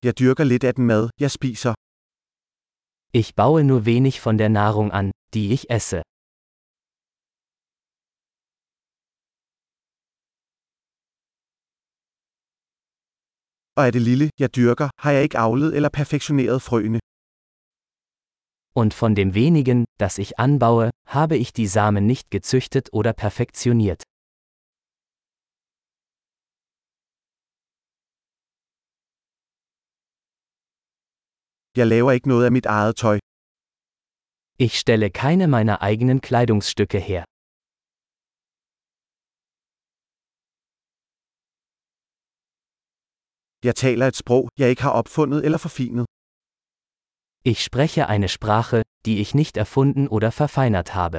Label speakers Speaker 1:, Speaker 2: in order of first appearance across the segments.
Speaker 1: Jeg dyrker lidt af den mad, jeg spiser.
Speaker 2: Ich baue nur wenig von der Nahrung an, die ich esse.
Speaker 1: Og af det lille, jeg dyrker, har jeg ikke avlet eller perfektioneret frøene.
Speaker 2: Und von dem wenigen, das ich anbaue, habe ich die Samen nicht gezüchtet oder perfektioniert.
Speaker 1: Jeg laver ikke noget af mit eget tøj.
Speaker 2: Ich stelle keine meiner eigenen Kleidungsstücke her.
Speaker 1: Jeg taler et sprog, jeg ikke har opfundet eller forfinet.
Speaker 2: Ich spreche eine Sprache, die ich nicht erfunden oder verfeinert habe.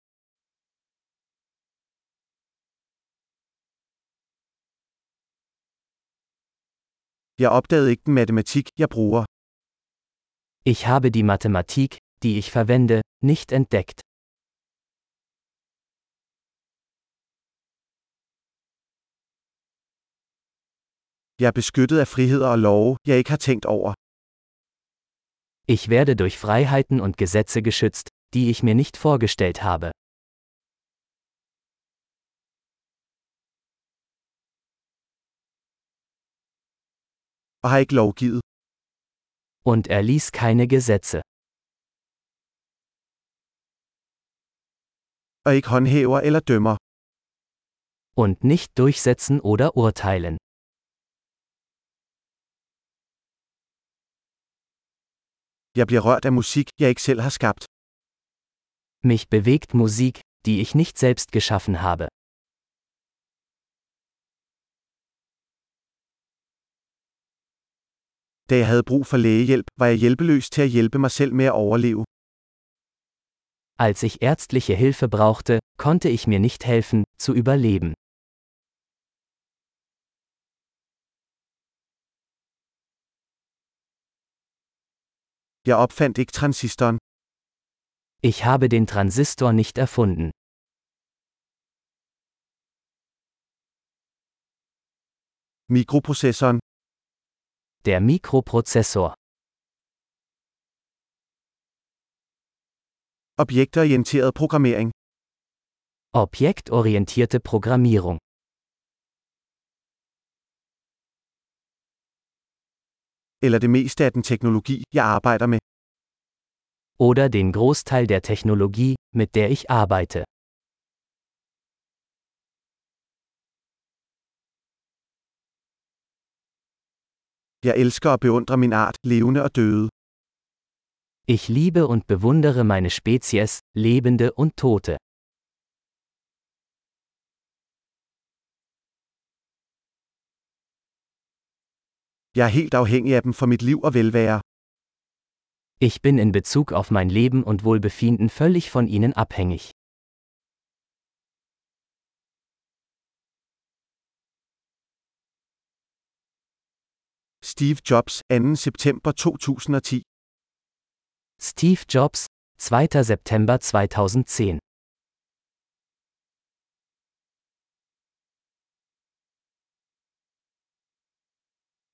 Speaker 1: Jeg opdagede ikke den matematik, jeg bruger.
Speaker 2: Ich habe die Mathematik, die ich verwende, nicht entdeckt.
Speaker 1: Jeg er beskyttet af friheder og love, jeg ikke har tænkt over.
Speaker 2: Ich werde durch Freiheiten und Gesetze geschützt, die ich mir nicht vorgestellt habe.
Speaker 1: Og har ikke lovgivet.
Speaker 2: Und erließ keine Gesetze.
Speaker 1: Og ikke håndhæver eller dømmer.
Speaker 2: Und nicht durchsetzen oder urteilen.
Speaker 1: Jeg bliver rørt af musik, jeg ikke selv har skabt.
Speaker 2: Mich bewegt Musik, die ich nicht selbst geschaffen habe.
Speaker 1: Da jeg havde brug for lægehjælp, var jeg hjælpeløs til at hjælpe mig selv med at overleve.
Speaker 2: Als ich ärztliche Hilfe brauchte, konnte ich mir nicht helfen, zu überleben.
Speaker 1: Jeg opfandt ikke transistoren.
Speaker 2: Ich habe den Transistor nicht erfunden.
Speaker 1: Mikroprozessoren.
Speaker 2: Der Mikroprozessor.
Speaker 1: Objektorienteret programmering.
Speaker 2: Objektorientierte Programmierung.
Speaker 1: Eller det meste af den teknologi, jeg arbejder med.
Speaker 2: Oder den Großteil der Technologie, mit der ich arbeite.
Speaker 1: Jeg elsker og beundrer min art, levende og døde.
Speaker 2: Ich liebe und bewundere meine Spezies, Lebende und Tote.
Speaker 1: Jeg er helt afhængig af dem for mit liv og velvære.
Speaker 2: Ich bin in Bezug auf mein Leben und Wohlbefinden völlig von ihnen abhängig.
Speaker 1: Steve Jobs, 2. September 2010.
Speaker 2: Steve Jobs, 2. September 2010